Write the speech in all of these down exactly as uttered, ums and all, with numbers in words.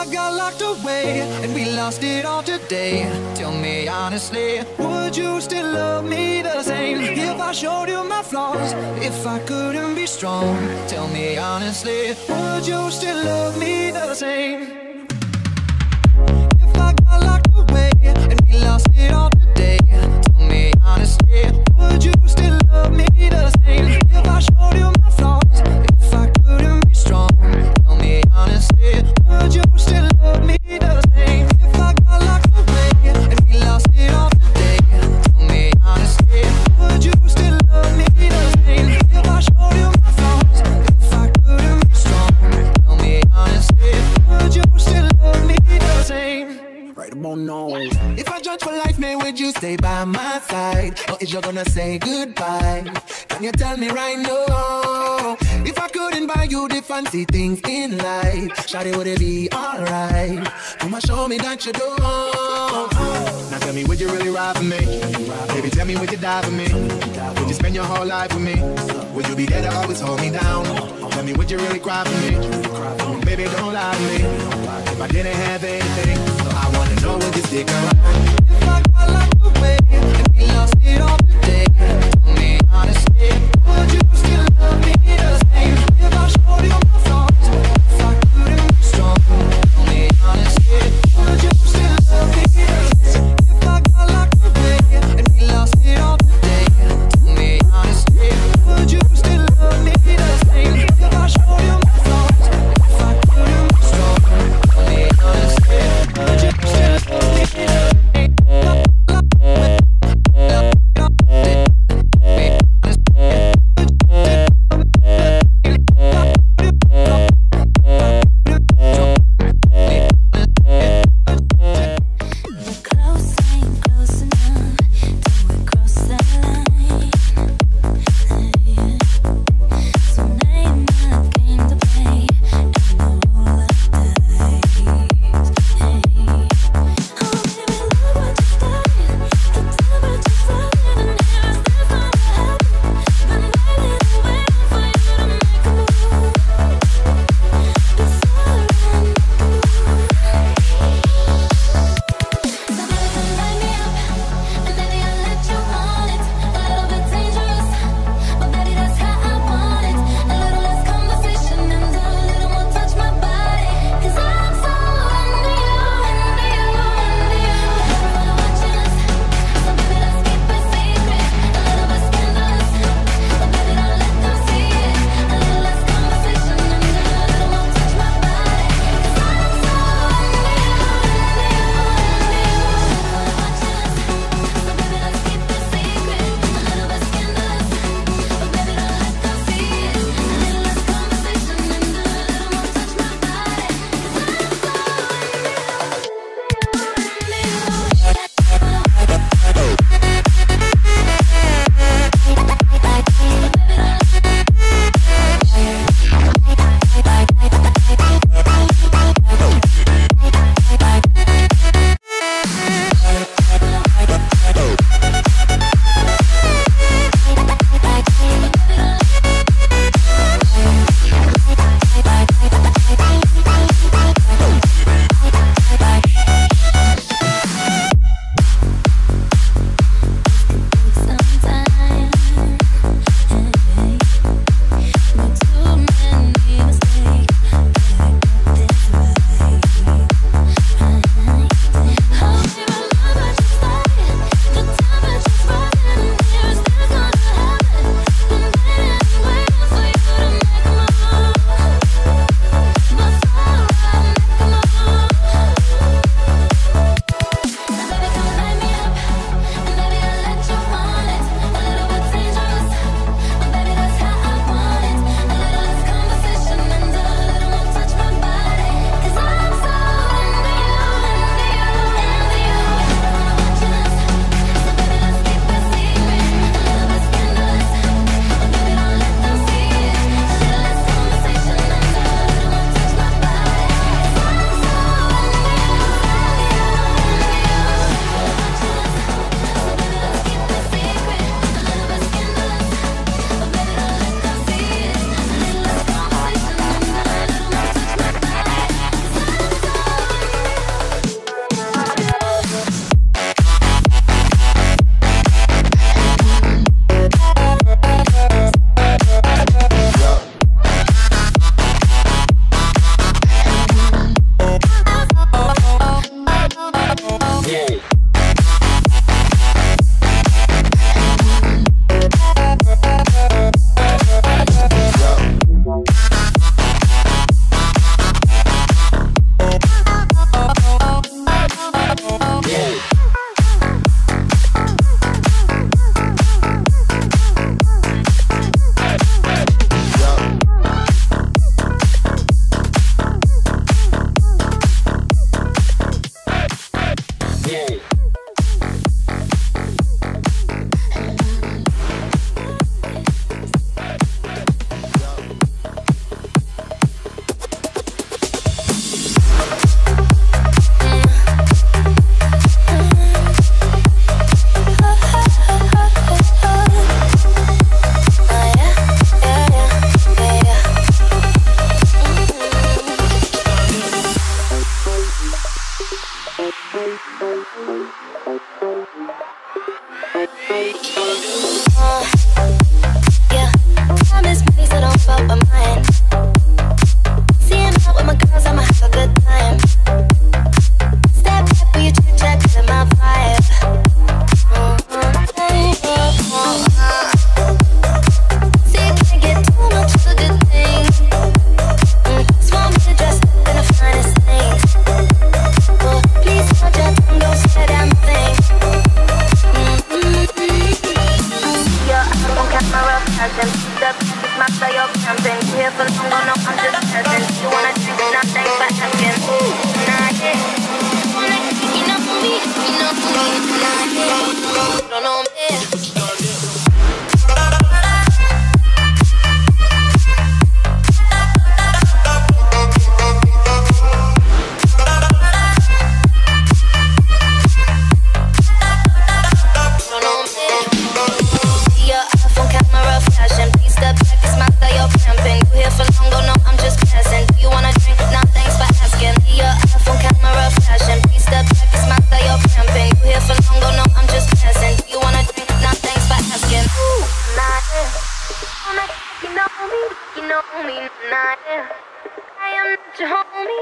got locked away and we lost it all today, tell me honestly, would you still love me the same? If I showed you my flaws, if I couldn't be strong, tell me honestly, would you still love me the same? If I got locked away and we lost it all today, tell me honestly, would you still love me the same? If I showed you my flaws, if I couldn't be strong, tell me honestly, would you still love me the same? If I got locked away and we lost it all today, tell me honestly, would you still love me the same? If I showed you my flaws, if I couldn't be strong, tell me honestly, would you still love me the same? Right about now. If I judge for life, man, would you stay by my side? Or is you gonna say goodbye? Can you tell me right now? If I couldn't buy you the fancy things in life, shawty, would it be alright? Come on, show me that you do. Now tell me, would you really ride for me? Baby, tell me, would you die for me? Would you spend your whole life with me? Would you be there to always hold me down? Tell me, would you really cry for me? Baby, don't lie to me. If I didn't have anything, I wanna know, would you stick around? If I got locked away and we lost it all today, tell me honestly, would you still love me the same? If I showed you my flaws, if I couldn't be strong, tell me honestly, would you still love me the same? If I got locked away and we lost it all today, tell me honestly, would you still love me the same? If I showed you my flaws, if I couldn't be strong, tell me honestly, would you still love me the same?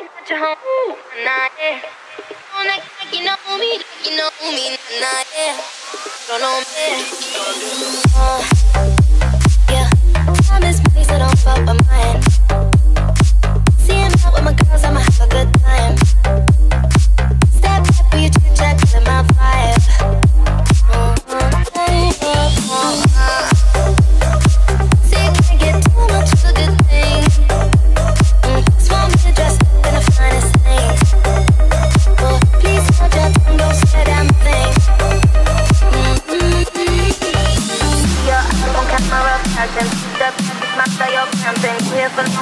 at your home, nah, yeah. Don't act like you know me, like you know me, nah, yeah. Don't know me. Uh, yeah, time is money, so don't fuck with mine. Seeing out with my girls, I'ma have a good time. Step back for your chit chat, feeling my vibe. Uh, uh, uh, uh, uh. See, you can't get too much of a good thing. Mm, just want me to dress up in the finest things. Oh, please hold your tongue, don't say damn thing. Mm-hmm. Your album camera passion, the package master, your camping. We're for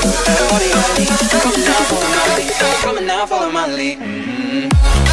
Everybody on me, come now, follow my lead. Come now, follow my lead. Mm-hmm.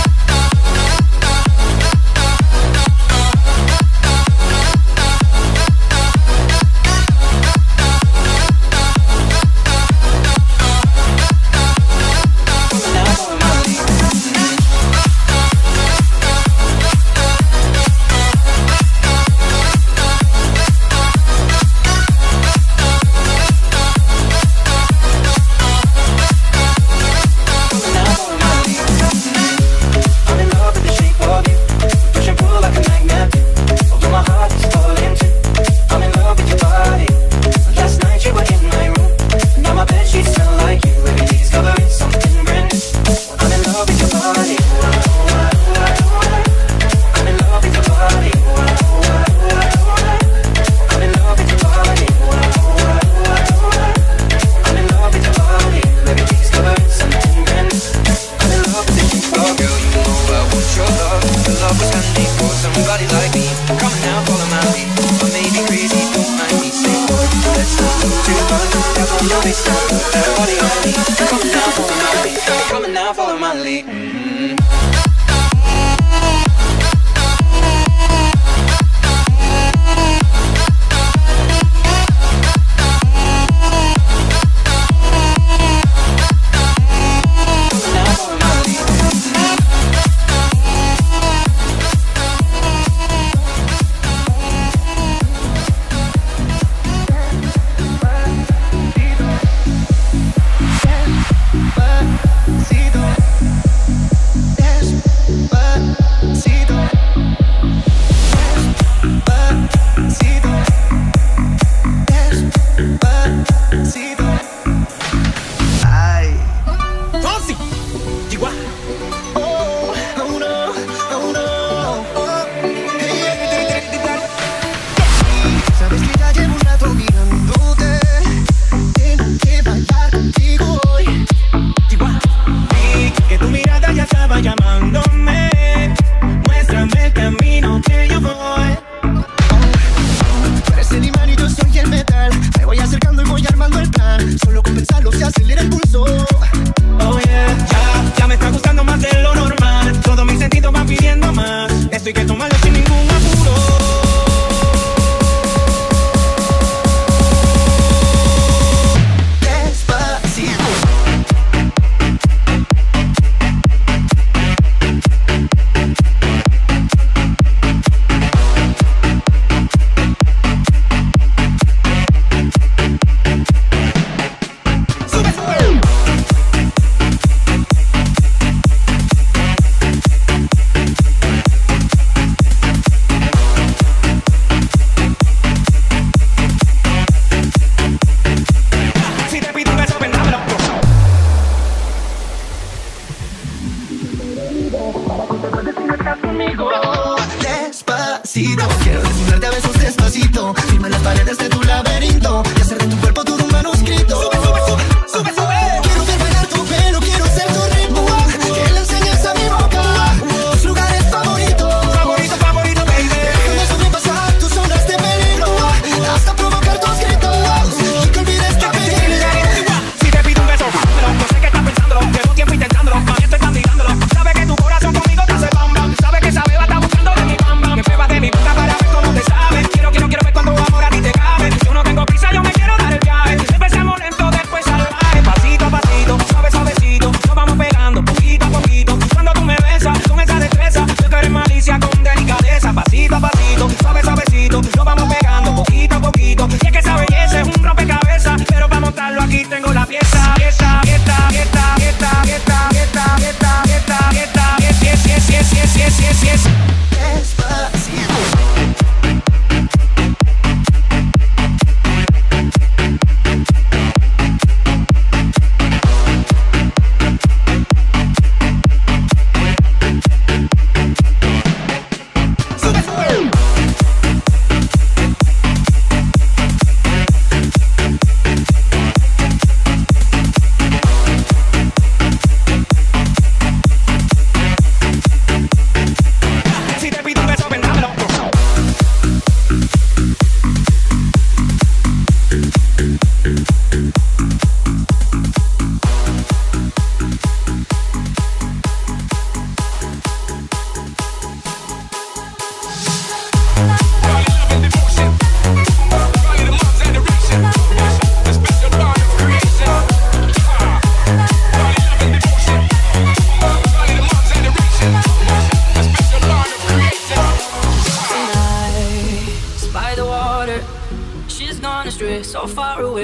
Despacito, quiero desnudarte a besos despacito. Firma las paredes de tu laberinto y hacer de tu cuerpo todo un manuscrito. Sube, sube, sube, sube, sube. Quiero ver bailar tu pelo, quiero ser tu ritmo. Que le enseñes a mi boca tus lugares favoritos. Favorito, favorito, baby. Déjame sobrepasar tus zonas de peligro hasta provocar tus gritos y que olvides que te llegué. Si te pido un beso, pero no sé qué estás pensándolo. Llevo tiempo intentándolo, más estoy candidándolo. Sabe que tu corazón conmigo te hace bam bam. Sabe que esa beba está buscando de mi bam bam. Que beba de mi boca para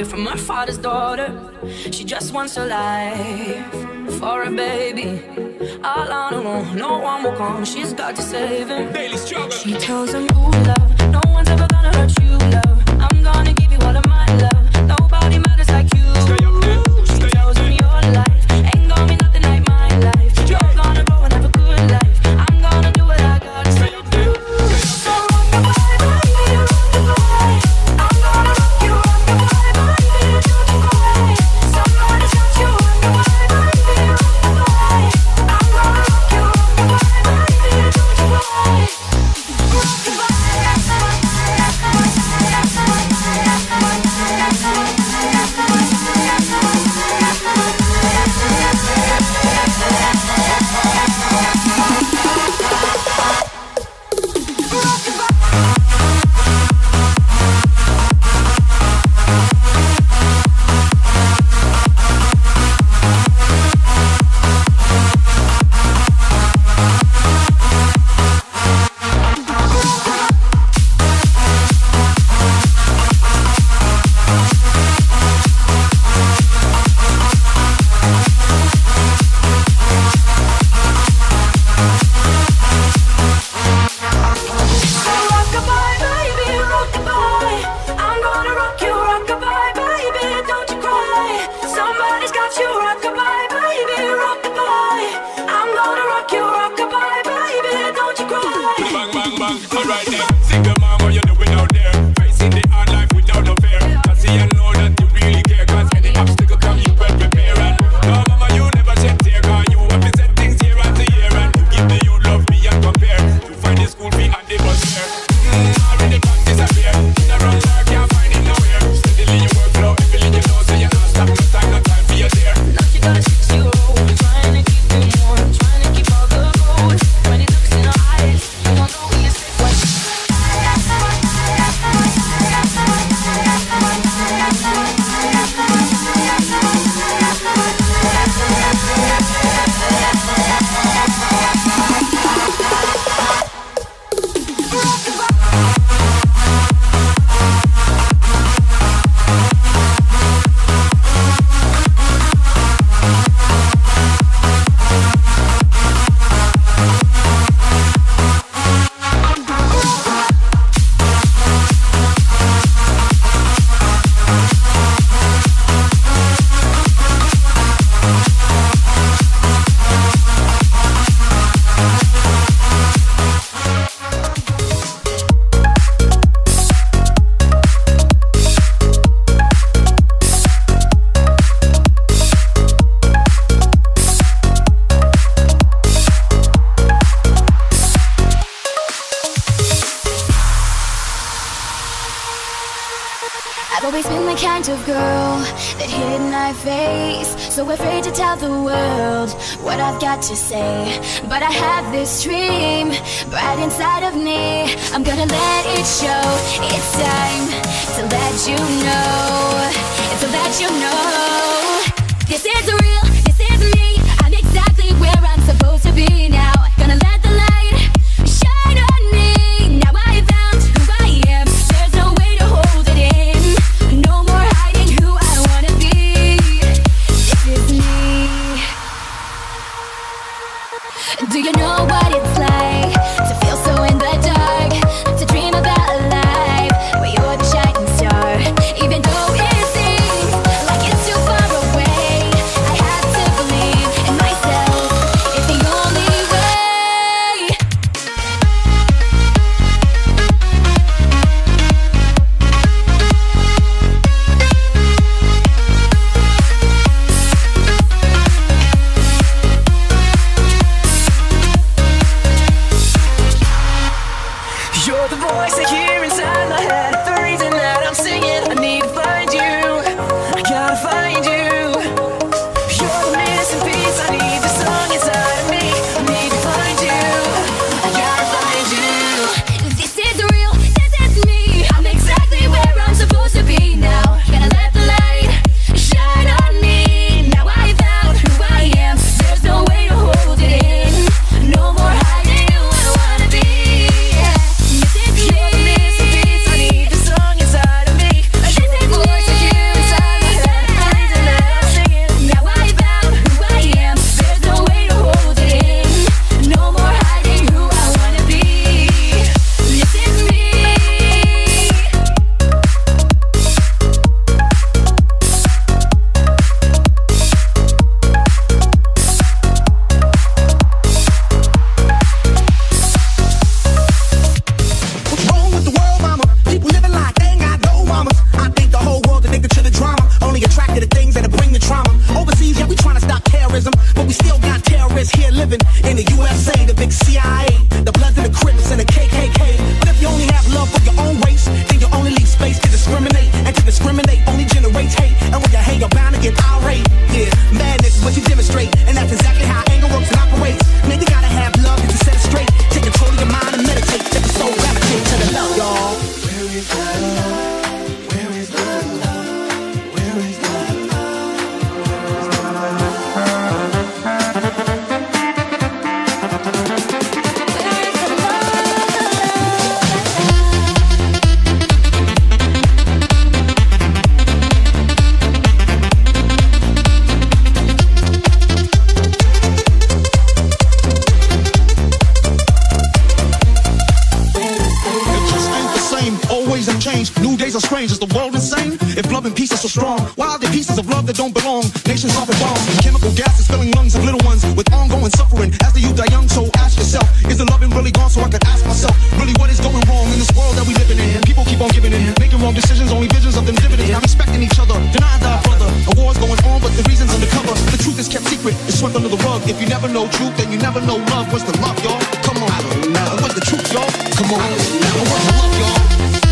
from her father's daughter. She just wants her life for a baby. All on her own, no one will come. She's got to save him. Daily struggle. She tells him, ooh, love, no one's ever gonna hurt you, love. I'm gonna give you all of my love. Nobody matters like you. Stay up there. She Stay tells up him there. your life ain't gonna be nothing like my life. You're gonna grow and have a good life. I'm gonna do what I gotta Stay up there. so rock-a-bye, baby, rock-a-bye. I'm gonna rock you, rock-a-bye, baby, don't you cry. Somebody's got you, rock-a-bye, baby, rock-a-bye. I'm gonna rock you, rock-a-bye, baby, don't you cry. Of girl that hid my face, so afraid to tell the world what I've got to say. But I have this dream right inside of me. I'm gonna let it show. It's time to let you know, to let you know. This is real, this is me. I'm exactly where I'm supposed to be now. Gonna let the light shine on me. Now I found who I am. There's no way to hold it in. No more hiding who I wanna be. This is me. Do you know what it's like to feel so in the dark? To dream about a life where you're the shining star. Even though it seems like it's too far away. peace is so strong? Why are there pieces of love that don't belong? Nations off and bombs, chemical gases filling lungs of little ones with ongoing suffering. As the youth are young, so ask yourself, is the loving really gone? So I could ask myself, really what is going wrong in this world that we living in? People keep on giving in, making wrong decisions, only visions of them dividends. Not respecting each other, denying thy brother. A war's going on, but the reason's undercover. The truth is kept secret, it's swept under the rug. If you never know truth, then you never know love. What's the love, y'all? Come on, I don't know. What's the truth, y'all? Come on, I don't know. What's the love, y'all?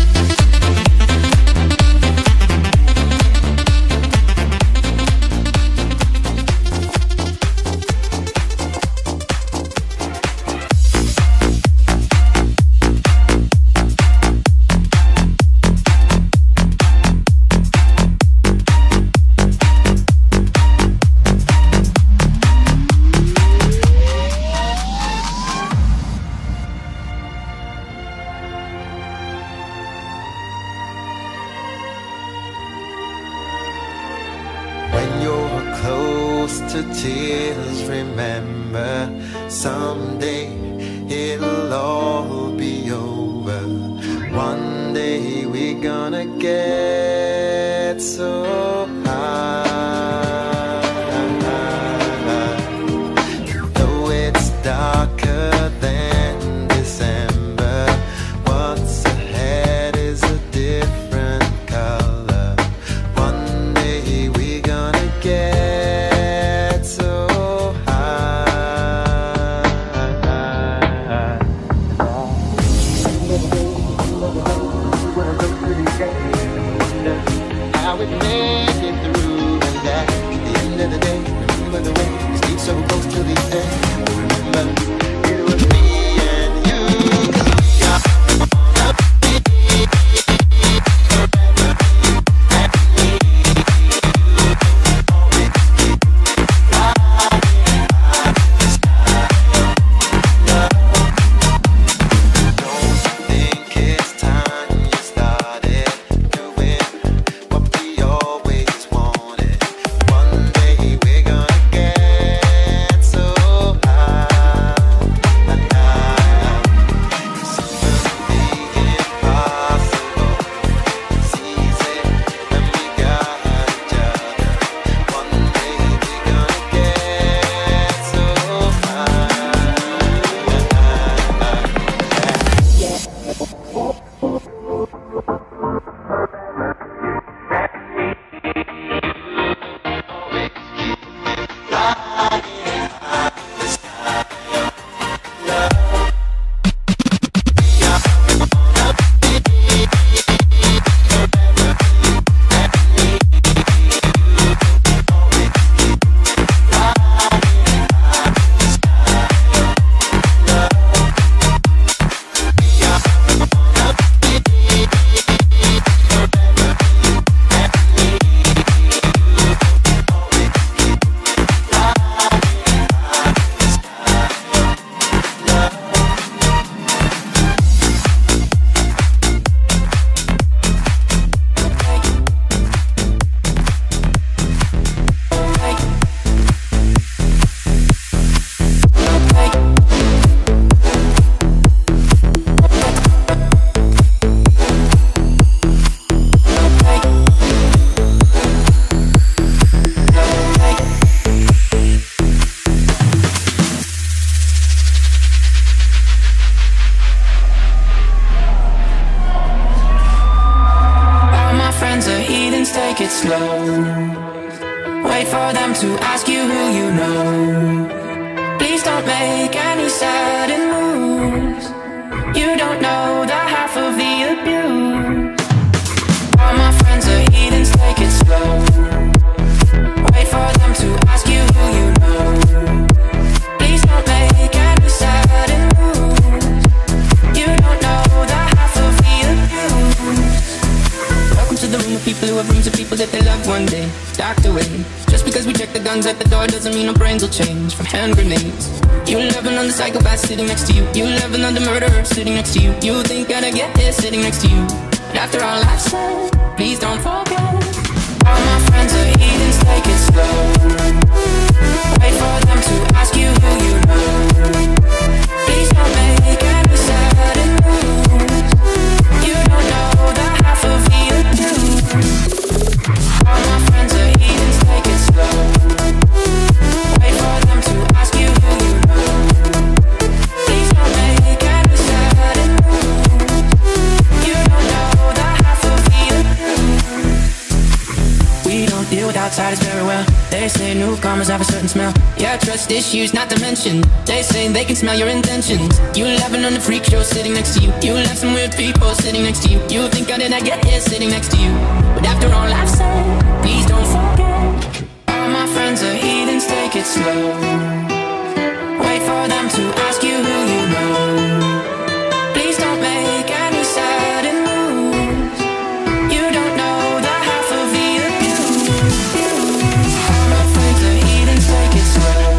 Sitting next to you, you loving on the murderer sitting next to you. You think I'd get here sitting next to you. But after all I've said, please don't forget. All my friends are heathens, take it slow. Wait for them to ask you who you know. Please don't make any sudden moves. You don't know the half of the abuse. newcomers have a certain smell. Yeah, trust issues not to mention. They say they can smell your intentions. You laughing on the freak show sitting next to you. You left some weird people sitting next to you. You think how did I get here sitting next to you? But after all I've said, please don't forget. All my friends are heathens, take it slow. Wait for them to ask you who you know. Please don't make any sudden moves. You don't know the half of the abuse. All my friends are heathens, take it slow.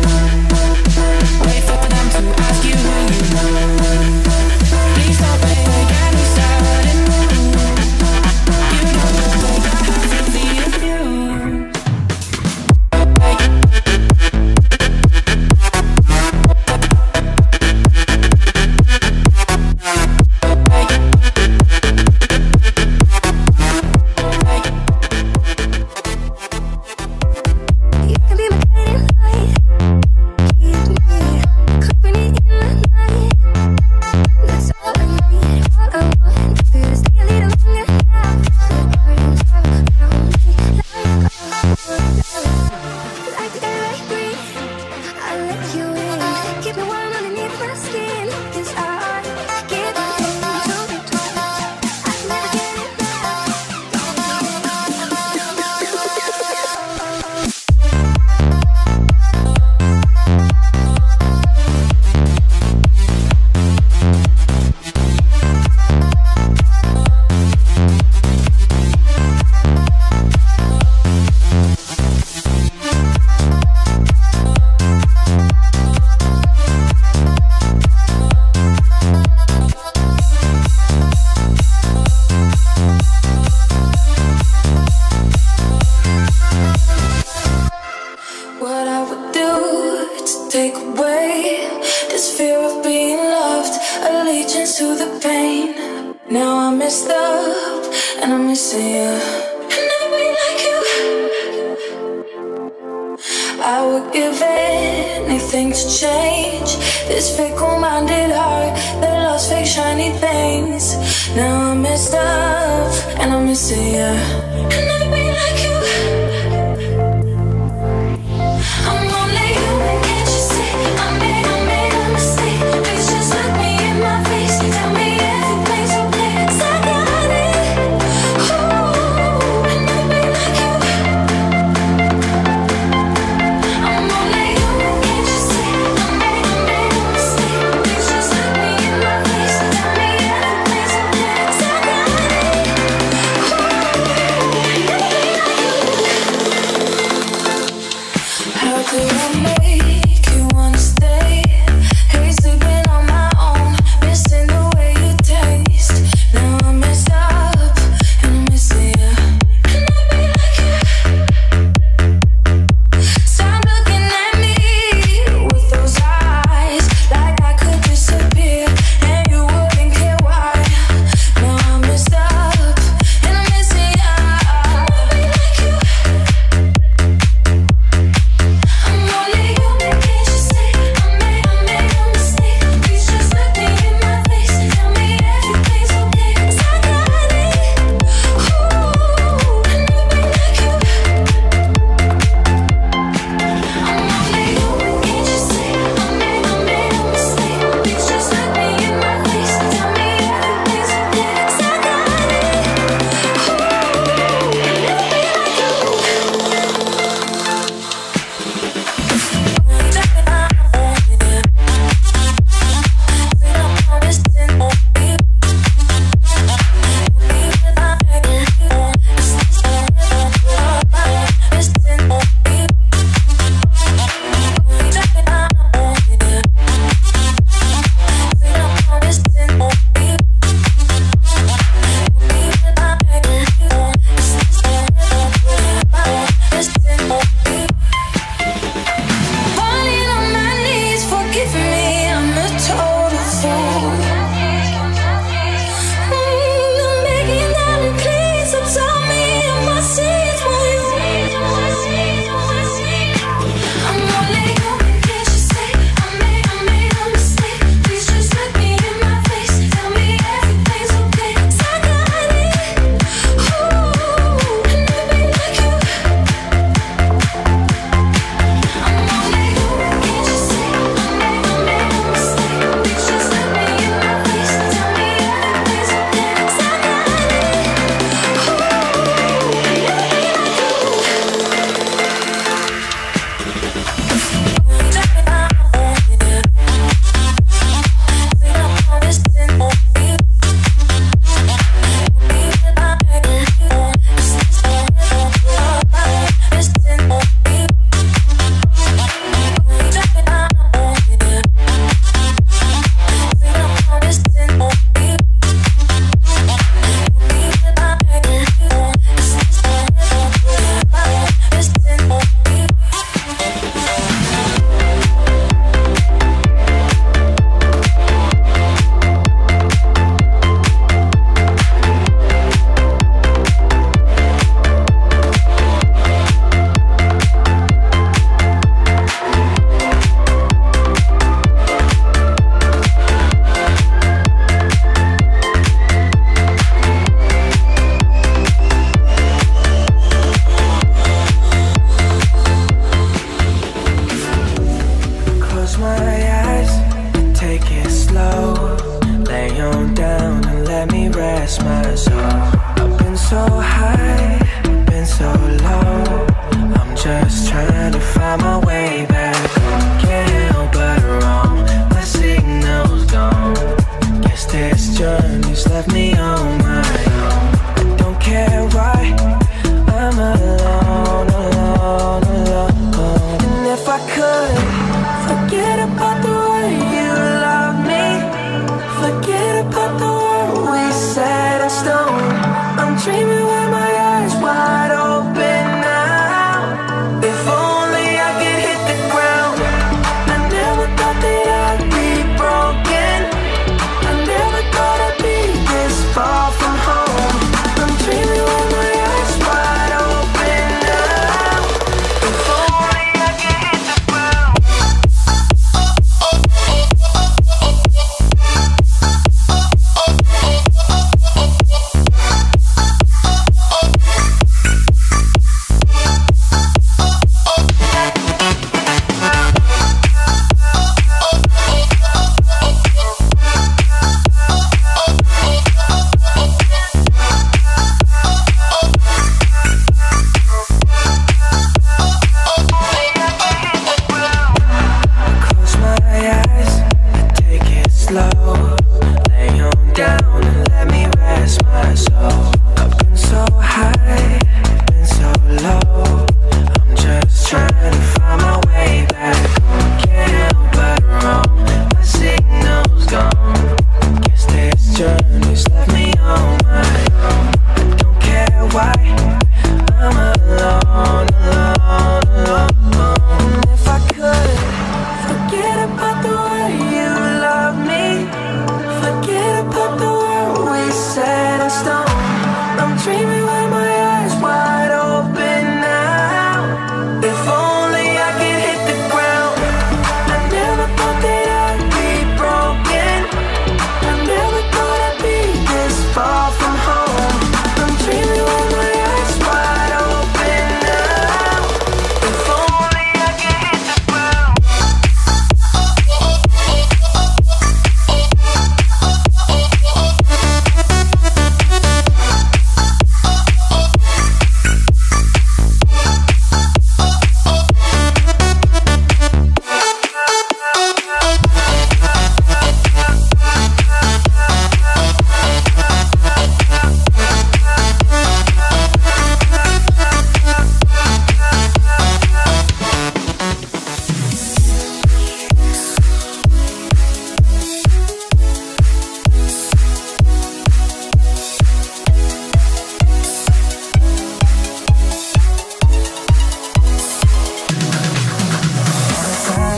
Wait for them to ask you who you know. Please don't make any sudden moves. You don't know the half of the abuse. I'm only human.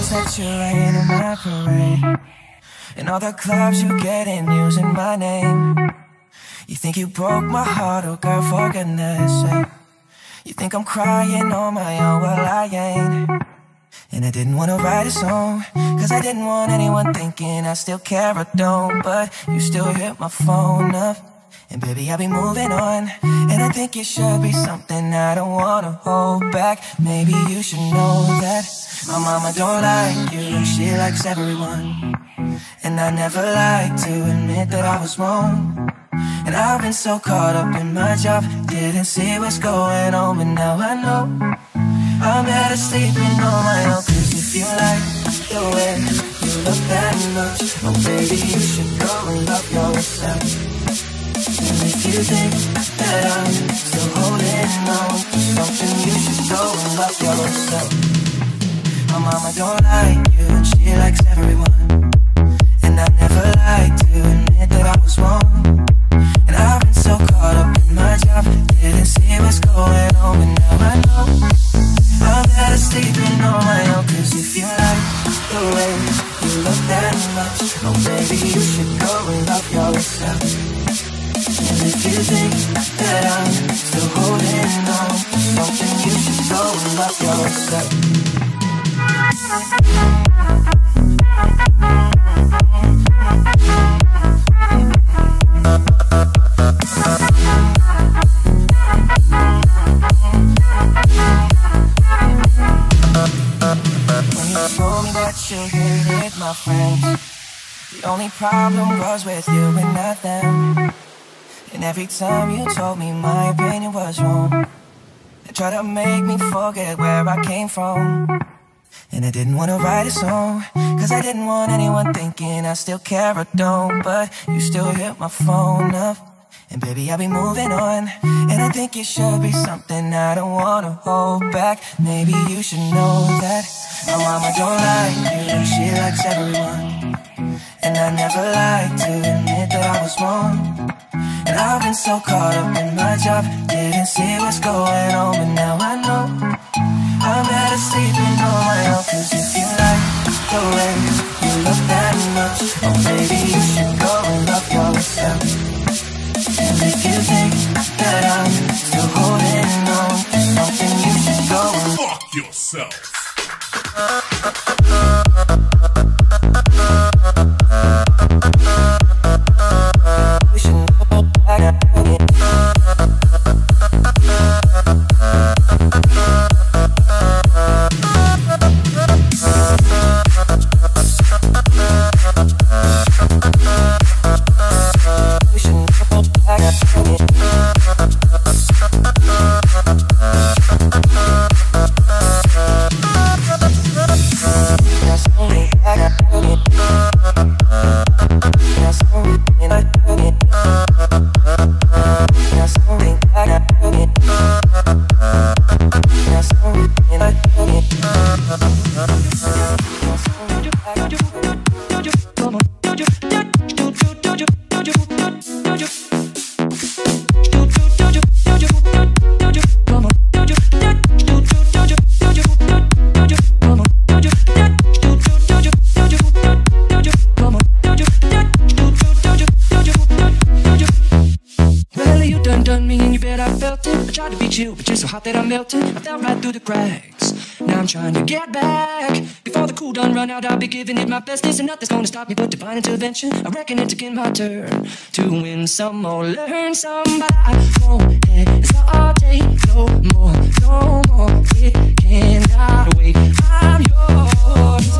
that you ain't in my parade, and all the clubs you get in using my name. You think you broke my heart, oh girl, for goodness sake. You think I'm crying on my own, well I ain't. And I didn't wanna write a song, cause I didn't want anyone thinking I still care or don't. But you still hit my phone up, and baby I'll be moving on. And I think it should be something I don't wanna hold back. Maybe you should know that my mama don't like you, and she likes everyone. And I never like to admit that I was wrong. And I've been so caught up in my job, didn't see what's going on, but now I know I'm better sleeping on my own. Cause if you like the way you look that much, oh baby you should go and love yourself. And if you think that I'm still holding on to something, you should go and love yourself. My mama don't like you, and she likes everyone. And I never like to admit that I was wrong. And I've been so caught up in my job, didn't see what's going on, but now I know I'm better sleeping on my own. Cause if you like the way you look that much, oh baby you should go and love yourself. And if you think that I'm still holding on to something, you should go and love yourself. When you told me that you hated my friends, the only problem was with you and not them. And every time you told me my opinion was wrong, and tried to make me forget where I came from. And I didn't wanna write a song, cause I didn't want anyone thinking I still care or don't. But you still hit my phone up, and baby I'll be moving on. And I think it should be something I don't wanna hold back. Maybe you should know that my mama don't like you, and she likes everyone. And I never like to admit that I was wrong. And I've been so caught up in my job, didn't see what's going on, but now I know I'm better sleeping on my own. Cause if you like the way you look that much, oh baby you should go and love yourself. And if you think that I'm still holding on to something, you should go and fuck yourself. We should go back again. But you're so hot that I melted, I fell right through the cracks. Now I'm trying to get back. Before the cool done run out, I'll be giving it my best. This and nothing's gonna stop me but divine intervention. I reckon it's again my turn to win some or learn some. But I won't hesitate no more, no more. It cannot wait. I'm yours.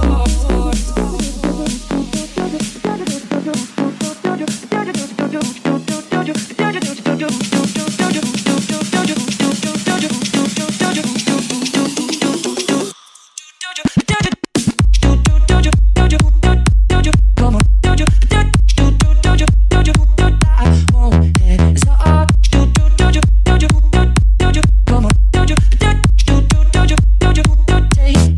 Take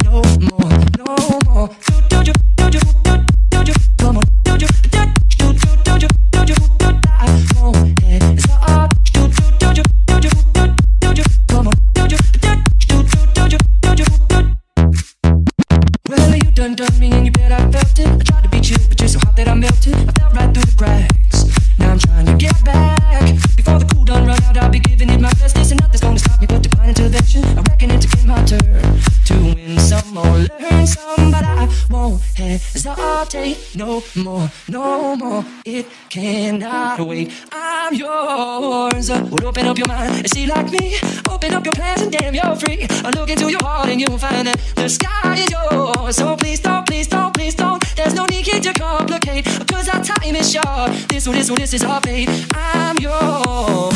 done done me and you bet I felt it. I tried to beat you, but you're so hot that I melted. I fell right through the cracks. Now I'm trying to get back. Before the cool done run out, I'll be giving it my best. This and nothing's gonna stop me but divine intervention. I reckon it's again my turn to win some or learn some, but I won't hesitate no more, no more. It cannot wait. I'm yours. Well, open up your mind and see like me. Open up your plans and damn, you're free. I look into your heart and you'll find that the sky is yours. So please don't, please don't, please don't. There's no need to complicate, cause our time is short. This one, this one, this is our fate. I'm yours.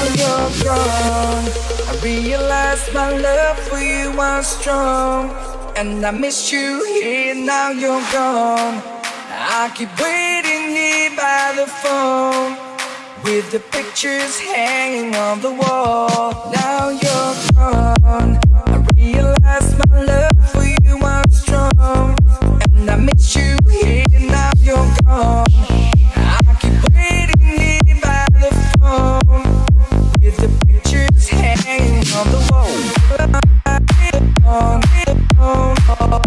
realized my love for you was strong. and I missed you here, now you're gone. I keep waiting here by the phone, with the pictures hanging on the wall. Now you're gone, I realize my love for you was strong, and I miss you here, now you're gone. I keep waiting here by the phone, with the pictures hanging on the wall. On, on, on.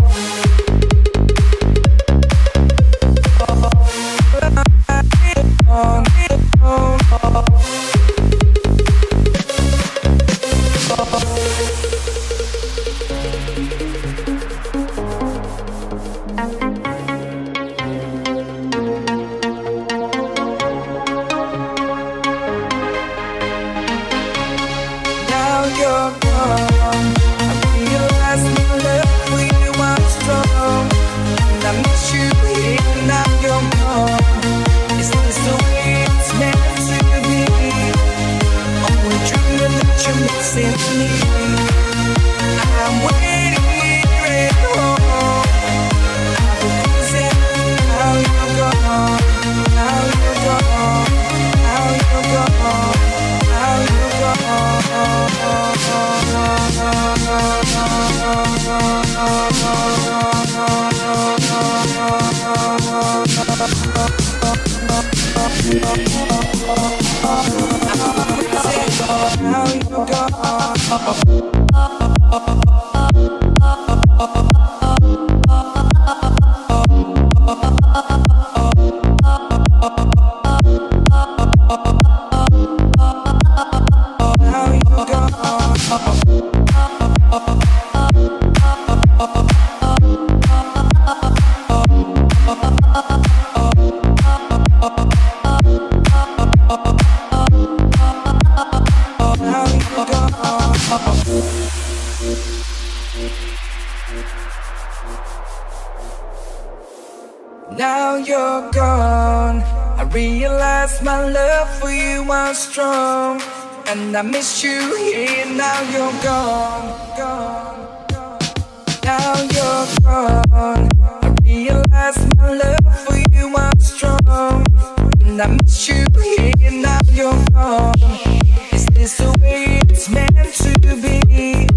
Now you're gone, I realize my love for you was strong, and I miss you here, now you're gone, gone, gone. Now you're gone, I realize my love for you was strong, and I miss you here, now you're gone. Is this the way it's meant to be?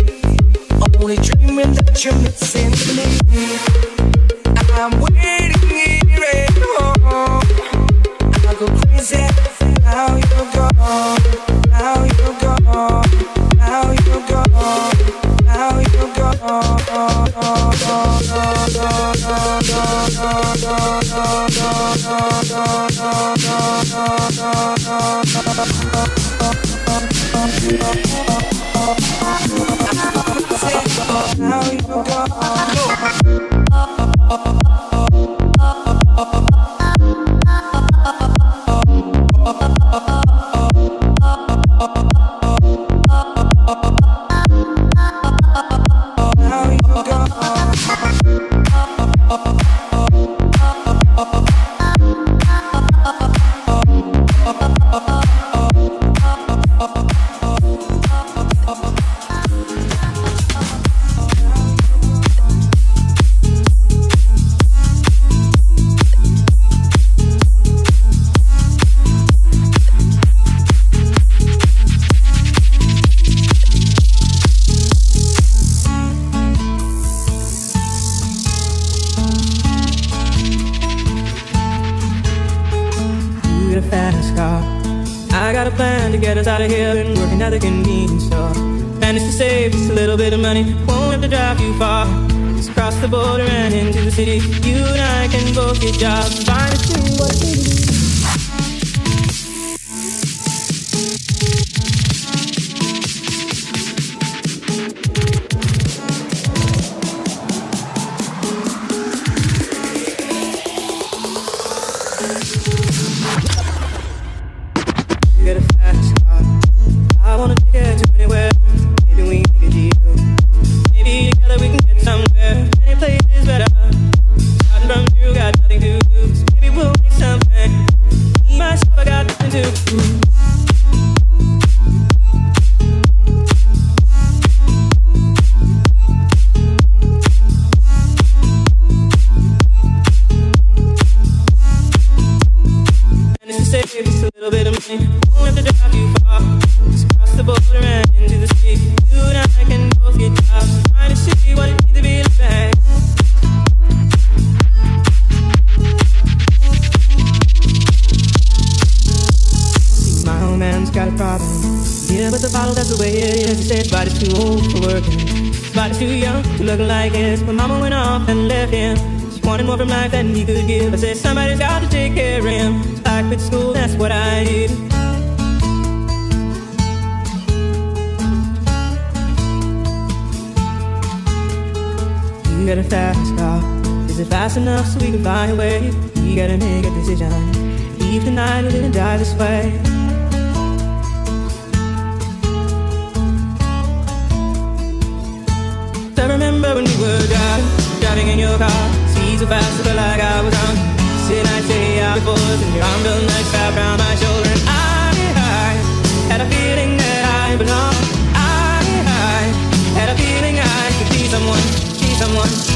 Only dreaming that you're missing me. I'm waiting here at home, I go crazy. Now you're gone, now you're gone, now you're gone, now you're gone. Now you're gone. Get us out of here, been working at the convenience store. Managed to save just a little bit of money, won't have to drive you far. Just cross the border and into the city. You and I can both get jobs, find a thing what we do. Somewhere, any place is better. Starting from zero, got nothing to lose. Maybe we'll make money, won't have to drive too far. Just cross the border and into the city. You and I can both get jobs, trying to see what it means to be like. My old man's got a problem. Yeah, but the bottle, that's the way it is. He said his body's too old for working, his body's too young to look like his. But mama went off and left him. She wanted more from life than he could give. I said somebody's got to take care of him. So I quit school, that's what I did. You got a fast car. Is it fast enough so we can find a way? You gotta make a decision. Leave tonight or live and die this way. I remember when we were driving, driving in your car. Speed so fast, I felt like I was drunk. Sit I say out before us, and your arm felt nice wrapped around my shoulder. And I, I had a feeling that I belonged. I, I had a feeling I could be someone, be someone.